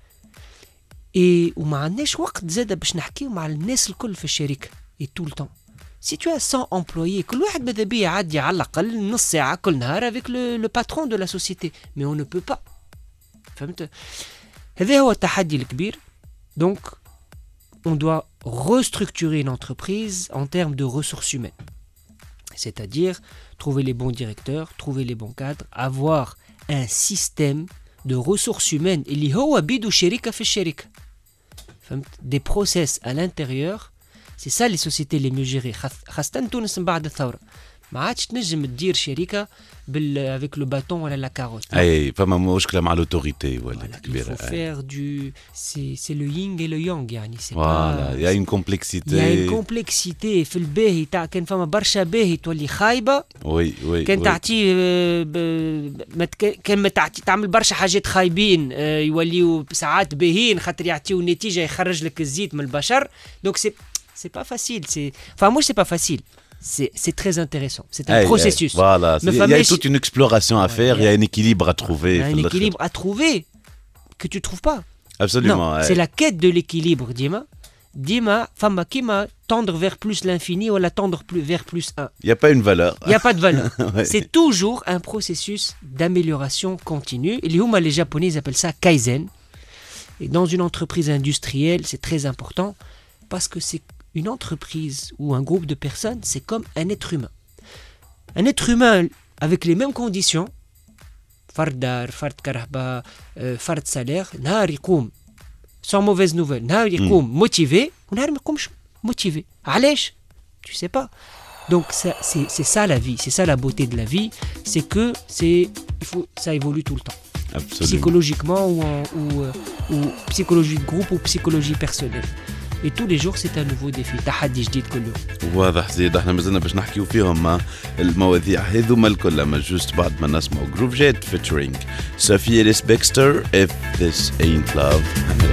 Speaker 9: et وما عندناش وقت زاده باش نحكيو مع الناس الكل في الشركه et tout le temps. Si tu as cent employés كل واحد ماذا بيه يعدي على الأقل نص ساعة كل نهار avec le, le patron de la société. mais on ne peut pas. فهمت؟ هذا هو التحدي الكبير. donc on doit restructurer une entreprise en termes de ressources humaines. C'est-à-dire trouver les bons directeurs, trouver les bons cadres, avoir un système de ressources humaines اللي هو بيدو شركة في الشركة. فهمت؟ Des process à l'intérieur. C'est ça les sociétés les mieux gérées. خاصة تونس من بعد الثورة. ما عادش تنجم تدير شركة بال avec le bâton ولا la carotte.
Speaker 3: أي فما مشكلة مع l'autorité ولا كبيرة.
Speaker 9: Il faut faire du c'est c'est le yin et le yang يعني. C'est
Speaker 3: voilà,
Speaker 9: pas.
Speaker 3: Il y a une complexité.
Speaker 9: Il y a une complexité في الباهي تاع كان فما برشا باهي تولي خايبة.
Speaker 3: وي وي.
Speaker 9: كان تعطيه كان ما تعطي تعمل برشا حاجات خايبين يوليوا ساعات باهين خاطر يعطيو نتيجة يخرج لك الزيت من البشر. Donc c'est c'est pas facile. C'est enfin moi c'est pas facile. C'est, c'est très intéressant. C'est un hey, processus.
Speaker 3: Hey, voilà. Il y a toute une exploration à faire. Il y a un équilibre à trouver.
Speaker 9: Il y a un équilibre à trouver que tu trouves pas.
Speaker 3: Absolument.
Speaker 9: Non,
Speaker 3: hey.
Speaker 9: C'est la quête de l'équilibre, Dima. ديما فما كيما tendre vers plus l'infini ou la tendre plus vers plus un.
Speaker 3: Il n'y a pas une valeur.
Speaker 9: Il n'y a pas de valeur.
Speaker 3: Ouais.
Speaker 9: C'est toujours un processus d'amélioration continue. Et les Huma, les Japonais, ils appellent ça Kaizen. Et dans une entreprise industrielle, c'est très important parce que c'est une entreprise ou un groupe de personnes, c'est comme un être humain. Un être humain avec les mêmes conditions, fard dar, fard karahba, fard salaire, nahar يقوم sans mauvaise nouvelle, nahar يقوم motivé, ou nahar ما يقومش motivé. علاش? Tu sais pas. Donc ça, c'est, c'est ça la vie, c'est ça la beauté de la vie, c'est que c'est, il faut, ça évolue tout le temps.
Speaker 3: Absolument.
Speaker 9: Psychologiquement ou, en, ou, ou psychologie de groupe ou psychologie personnelle. Et tous les jours c'est un nouveau défi. تحدي جديد كل يوم.
Speaker 3: واضح زيد احنا مازلنا باش نحكيو فيهم مع المواضيع هذوما الكل اما جوست بعد ما نسمعوا جروف جيت فيتشرينج صوفيا ليس بيكستر If This Ain't Love.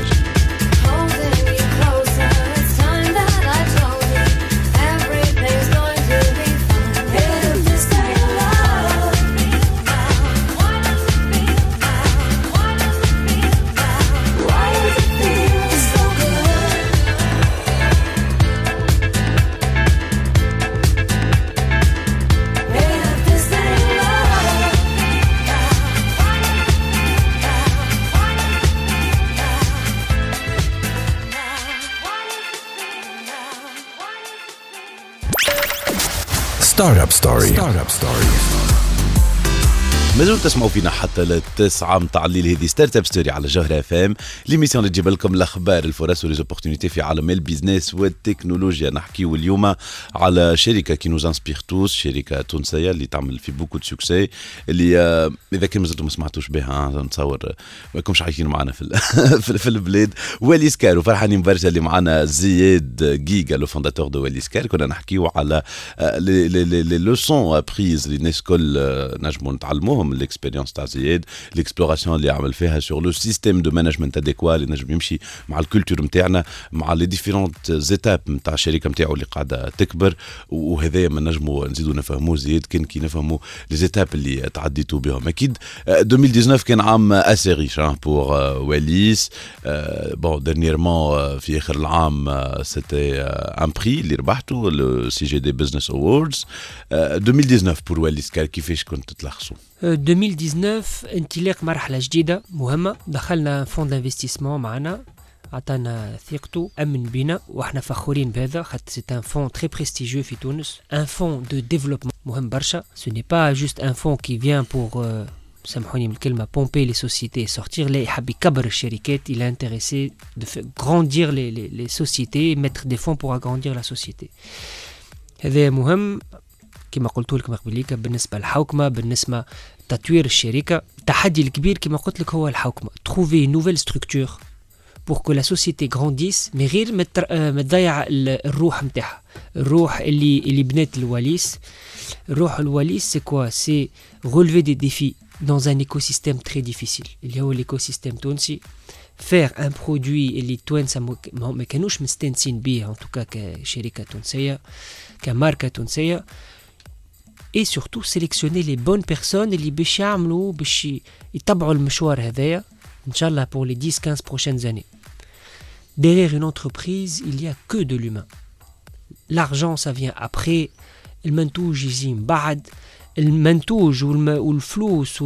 Speaker 2: Startup Story. Startup Story.
Speaker 3: مازلتوا تسمعوا فينا حتى للتسعة متاع الليل. هذه ستارت اب ستوري على جوهرة اف ام، ليميسيون اللي تجيب لكم الاخبار الفرص وليزوبورتينيتي في عالم البيزنس والتكنولوجيا. نحكيو اليوم على شركه كي نوز انسبير توس، شركه تونسيه اللي تعمل في بوكو دو سوكسي، اللي اذا كان مازلتوا ما سمعتوش بها نتصور ما لكمش عايشين معنا في في البلاد. واليس كار، وفرحانين برشا اللي معنا زياد جيجا لو فونداتور دو واليس كار. كنا نحكيو على لي لوسون بريز اللي الناس الكل نجموا نتعلموهم من الاكسبيريونس تاع زياد، الاكسبلوراسيون اللي عمل فيها سور لو سيستيم دو مانجمنت اديكوا اللي نجم يمشي مع الكولتور نتاعنا، مع لي ديفيرونت زيتاب نتاع الشركه نتاعو اللي قاعده تكبر. وهذا ما نجموا نزيدوا نفهموه زياد كان كي نفهموا لي زيتاب اللي تعديتوا بهم. اكيد ألفين وتسعة عشر كان عام اسي ريش بور واليس. بون ديرنييرمون في اخر العام سيتي ان بري اللي ربحته لو سي جي دي بزنس اووردز. ألفين وتسعة عشر بور واليس كار كيفاش كنت تلخصوا؟
Speaker 9: ألفين وتسعطاش انطلاق مرحلة جديدة مهمة. دخلنا فون دانفستيسمون معنا، عطانا ثقته، أمن بنا وإحنا فخورين بهذا خاطر سي ان فون تري بريستيجيو في تونس، ان فون دو ديفلوبمون مهم برشا. سو ني با جوست ان فون كي فيان بور سامحوني من الكلمة بومبي لي سوسيتي سورتير، لا يحب يكبر الشركات، il est intéressé de grandir les les les sociétés, mettre des fonds pour agrandir la société. هذا مهم كما قلت لكم قبليك. بالنسبه للحوكمه، بالنسبه لتطوير الشركه، التحدي الكبير كما قلت لك هو الحوكمه. trouver une nouvelle structure pour que la société grandisse، mais غير ما تضيع الروح نتاعها، الروح اللي اللي بنات الواليس. الروح الواليس سي كوا؟ سي relever des défis dans un écosystème très difficile اللي هو l'écosystème تونسي. faire un produit اللي توانسه ما كانوش مستانسين بيه ان توكا كشركه تونسيه كماركه تونسيه. et surtout sélectionner les bonnes personnes اللي باش يعملوا باش يتبعوا المشوار هذايا ان شاء الله pour les dix quinze prochaines années. Derrière une entreprise, il y a que de l'humain. L'argent ça vient après. المنتوج يجي من بعد. المنتوج والفلوس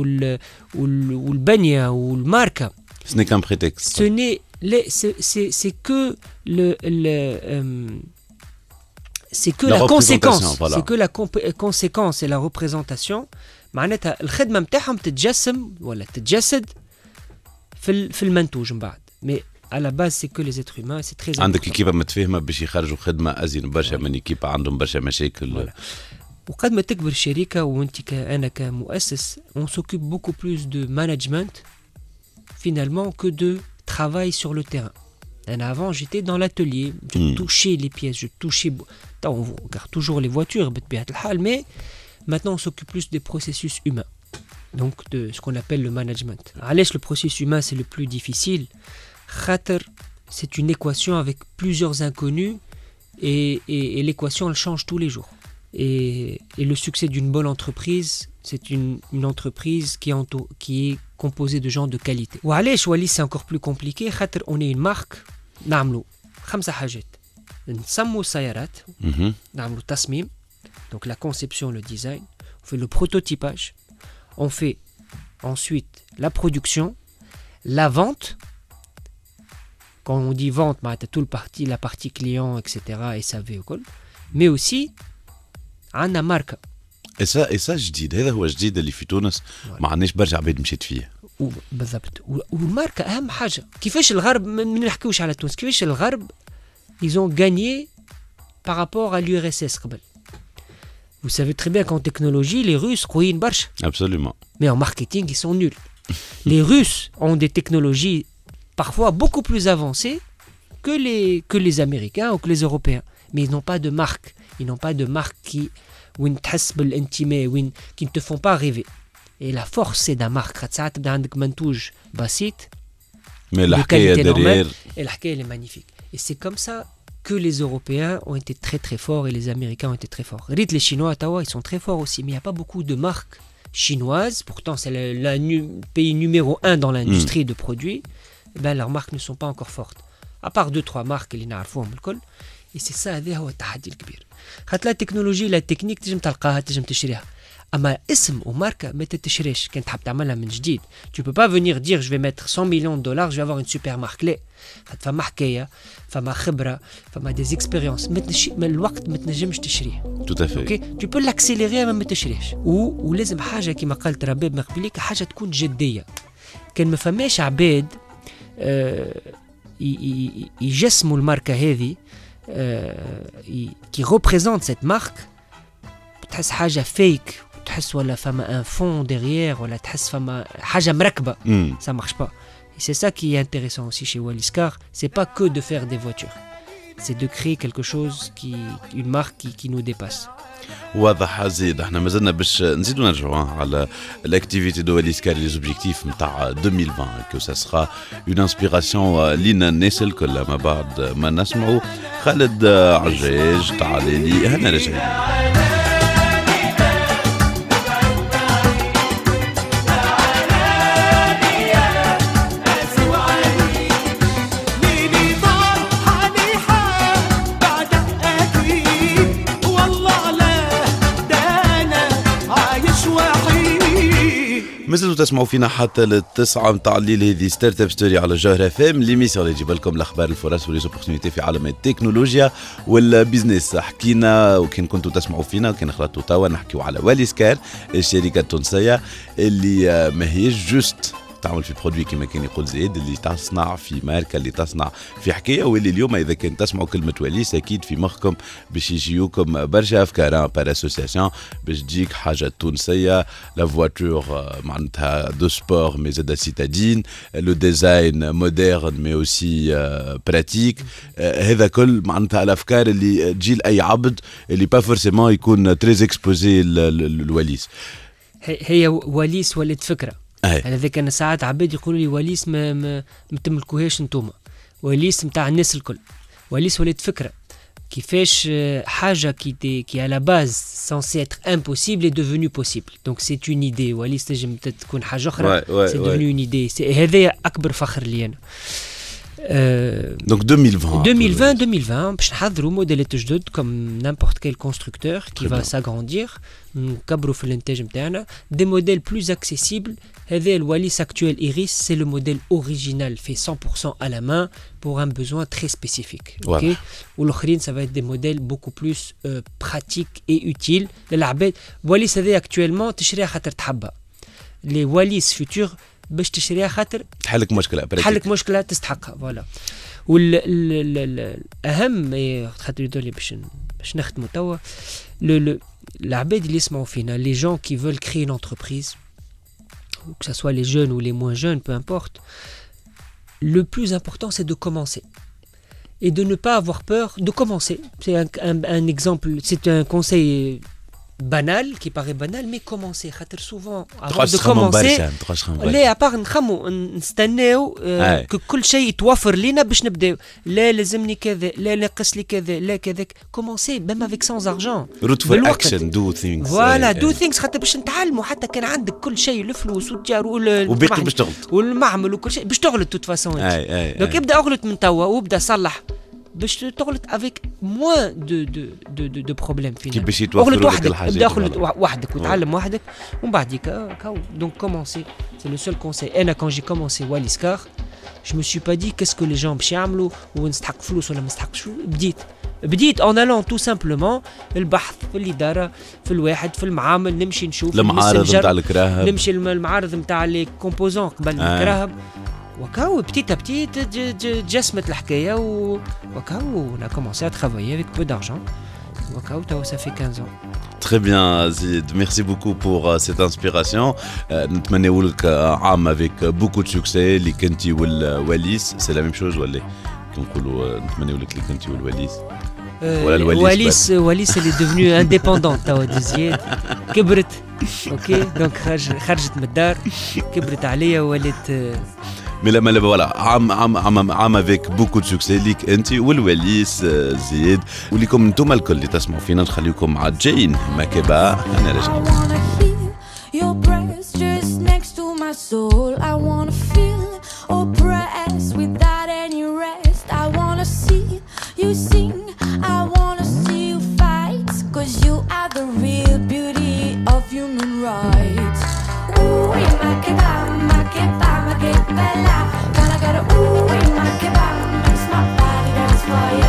Speaker 9: والبنية والماركة.
Speaker 3: Ce n'est qu'un prétexte.
Speaker 9: Ce n'est c'est c'est c'est que le le euh, c'est que la, la conséquence, voilà. C'est que la comp- conséquence et la représentation. معناتها الخدمة متاعهم تتجسم ولا تتجسد في في المنتوج من بعد. Mais à la base c'est que les êtres humains, c'est très important.
Speaker 3: عندك كيف متفاهمة باش يخرجوا خدمة أزين برشا من كيف عندهم برشا مشاكل.
Speaker 9: وقد ما تكبر الشركة وانت كأنا كمؤسس on s'occupe beaucoup plus de management finalement que de travail sur le terrain. Et avant, j'étais dans l'atelier, je mmh. touchais les pièces, je touchais... On regarde toujours les voitures, mais maintenant on s'occupe plus des processus humains, donc de ce qu'on appelle le management. Allez, le processus humain, c'est le plus difficile. Khater, c'est une équation avec plusieurs inconnus et, et, et l'équation, elle change tous les jours. Et, et le succès d'une bonne entreprise, c'est une, une entreprise qui, entoure, qui est composée de gens de qualité. Ou allez, Wallis, c'est encore plus compliqué. On est une marque, نعملوا خمسة حاجات. نسموا السيارات،
Speaker 3: مهم.
Speaker 9: نعملوا تصميم، donc la conception, le design, on fait le prototypage, on fait ensuite la production, la vente. Quand on dit vente, bah, tu as tout le parti, la partie client, et cetera, S A V ou quoi. Mais aussi, on a marque.
Speaker 3: Et ça, et ça جديد، هذا هو جديد اللي في تونس ما عندناش برشا عباد مشيت فيه.
Speaker 9: بالضبط. والماركة أهم حاجة. كيفاش الغرب ما نحكيوش على تونس، كيفاش الغرب ils ont gagné par rapport à l'U R S S قبل. Vous savez très bien qu'en technologie, les Russes قويين برشا.
Speaker 3: Absolument.
Speaker 9: Mais en marketing, ils sont nuls. Les Russes ont des technologies parfois beaucoup plus avancées que les, que les Américains ou que les Européens. Mais ils n'ont pas de marque. Ils n'ont pas de marque qui, وين تحس بالانتماء، وين qui ne te font pas rêver. Et la force, c'est d'un marque. خاطر ساعات تبدا عندك منتوج بسيط.
Speaker 3: Mais الحكاية derrière.
Speaker 9: Et الحكاية elle est magnifique. Et c'est comme ça que les Européens ont été très très forts et les Américains ont été très forts. Rite les Chinois, Tawa, ils sont très forts aussi, mais il n'y a pas beaucoup de marques chinoises. Pourtant, c'est le, le nu- pays numéro un dans l'industrie mm. de produits. Eh ben, leurs marques ne sont pas encore fortes. À part deux, trois marques, اللي نعرفوهم الكل. Et c'est ça, هذا هو التحدي الكبير. خاطر لا تكنولوجي لا تكنيك تجم تلقاها تجم تشريها. أما اسم وماركة ما تتشريش كان تحب تعملها من جديد. Tu peux pas venir dire je vais mettre cent millions de dollars, je vais avoir une super marque. لا. فما حكاية، فما خبرة، فما des expériences. ما تنشي ما الوقت ما تنجمش تشريه.
Speaker 3: Tout à fait.
Speaker 9: اوكي tu peux l'accélérer ما تشريهش. و... ولازم حاجة كما قالت رباب مقبليك حاجة تكون جدية. كان ما فماش عباد آه ي... يجسموا الماركة هذه آه ي... qui représente cette marque. تحس حاجة فيك، تحس ولا فما ان فون derrière، ولا تحس فما حاجة مركبة.
Speaker 3: Mm.
Speaker 9: Ça marche pas. Et c'est ça qui est intéressant aussi chez Wallis Car, c'est pas que de faire des voitures. C'est de créer quelque chose qui une marque qui, qui nous dépasse.
Speaker 3: واضح زيد. احنا مازلنا باش نزيدو نرجعوا على الاكتيفيتي دو واليس كار لي زوبجيكتيف نتاع ألفين وعشرين كو سا سخا اون انسبيراسيون لينا الناس الكل. ما بعد ما نسمعوا خالد عجاج تعالي لي هنا راجعين. مازلتوا تسمعوا فينا حتى للتسعة متاع الليل. هذه ستارت اب ستوري على جوهر اف ام، ليميسيون اللي تجيب لكم الاخبار الفرص وليزوبورتينيتي في عالم التكنولوجيا والبيزنس. حكينا وكان كنتوا تسمعوا فينا وكان خلطوا توا نحكيوا على واليس كار، الشركه التونسيه اللي ماهيش جوست تعمل في برودوي كما كان يقول زيد، اللي تصنع في ماركه، اللي تصنع في حكايه، واللي اليوم اذا كان تسمعوا كلمه واليس اكيد في مخكم باش يجيوكم برشا افكار بار اسوسياسيون باش تجيك حاجه تونسيه. لا فواتور معناتها دو سبور مي زاد سيتادين، لو ديزاين مودرن مي اوسي براتيك. هذا كل معناتها الافكار اللي تجي لاي عبد اللي با فورسيمون يكون تري اكسبوزي للواليس.
Speaker 9: هي واليس ولات فكره. هذاك انا ساعات عباد يقولوا لي واليس ما ما, ما تملكوهاش نتوما، واليس نتاع الناس الكل. واليس ولات فكره كيفاش حاجه كي كي على باز سانسي اتر امبوسيبل اي ديفونو بوسيبل. دونك سي اون ايدي. واليس تنجم تكون حاجه اخرى، سي ديفونو اون ايدي. هذا اكبر فخر لي انا.
Speaker 3: Donc deux mille vingt.
Speaker 9: deux mille vingt, deux mille vingt, باش نحضروا موديلات جدد comme n'importe quel constructeur qui va s'agrandir. نكبروا في الانتاج نتاعنا des modèles plus accessibles. هذا الواليس actuel Iris, c'est le modèle original fait cent pour cent à la main pour un besoin très spécifique. OK. والاخرين ça va être des modèles beaucoup plus euh, pratiques et utiles للعباد. واليس هذا actuellement تشريها خاطر تحبها. les واليس futurs باش تشريها خاطر
Speaker 3: تحلك مشكله
Speaker 9: تحلك مشكله تستحقها. فوالا. والاهم خاطر يدولي باش باش نختموا توا العباد اللي يسمعوا فينا، les gens qui veulent créer une entreprise, que ce soit les jeunes ou les moins jeunes, peu importe, le plus important c'est de commencer et de ne pas avoir peur de commencer. C'est un, un, un exemple, c'est un conseil banal qui paraît banal, mais commencer. خاطر souvent avant de commencer لا ابار نخمو نستناو ك كل شيء يتوفر لينا باش نبداو. لا لازمني كذا، لا ناقص لي كذا، لا كذاك. commencer même avec sans argent.
Speaker 3: root for action, do things.
Speaker 9: voilà do things خاطر باش نتعلموا. حتى كان عندك كل شيء، الفلوس والتجار
Speaker 3: وباقي باش تغلط
Speaker 9: والمعمل وكل شيء باش تغلط توت فاسون. دونك ابدا اغلط من توا وابدا صلح باش تغلط افيك موان دو دو دو دو, دو بروبليم فينا.
Speaker 3: كي باش يتوفروا لك الحاجات.
Speaker 9: ابدا اغلط وحدك وتعلم وحدك ومن بعديك كاو. دونك كومونسي سي لو سول كونساي. انا كون جي كومونسي واليس كار je me suis pas dit qu'est-ce que les gens باش يعملوا ونستحق فلوس ولا ما نستحقش. بديت بديت en allant tout simplement البحث في الإدارة في الواحد في المعامل نمشي نشوف
Speaker 3: المعارض نتاع الكراهب
Speaker 9: نمشي المعارض نتاع لي كومبوزون قبل آه. الكراهب وكاو بتيت بتيت جسمت الحكاية وكاو on a commencé à travailler avec peu d'argent وكاو توا ça fait quinze ans.
Speaker 3: Très bien Zid, merci beaucoup pour uh, cette inspiration. نتمنى لك عام avec beaucoup de succès. اللي كنتي والواليس c'est la même chose ولا كنقولوا نتمنى لك اللي كنتي والواليس
Speaker 9: ولا الواليس واليس واليس اللي devenu indépendant توا دي زياد كبرت اوكي دونك خرج خرجت من الدار كبرت عليا ولات
Speaker 3: ملا ملا فوالا عام عام عام عام افيك بوكو دو سوكسي ليك انت والوليس زيد وليكم انتم الكل اللي تسمعوا فينا. نخليكم مع جين ماكيبا. انا راجع
Speaker 6: Bella, gotta gotta ooh in my kebab makes my body dance for ya.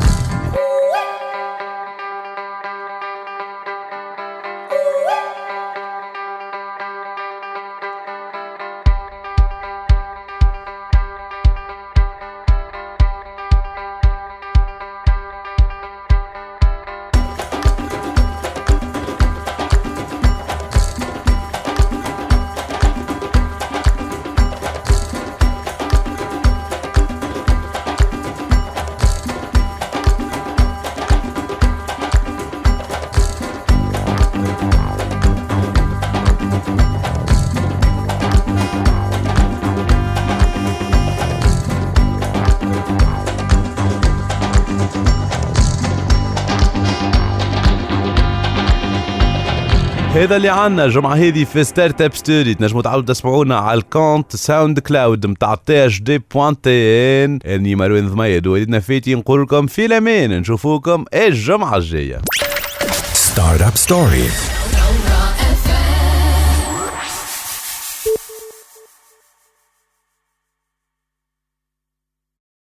Speaker 3: هذا اللي عنا جمعة هذه في ستارت اب ستوري. تنجموا تعاودوا تسمعونا على الكونت ساوند كلاود متاع تي اش دي بوان تي ان. اني مروان ضميد ووليدنا فاتي نقول لكم في الامان. نشوفوكم الجمعة الجاية.
Speaker 2: ستارت اب ستوري.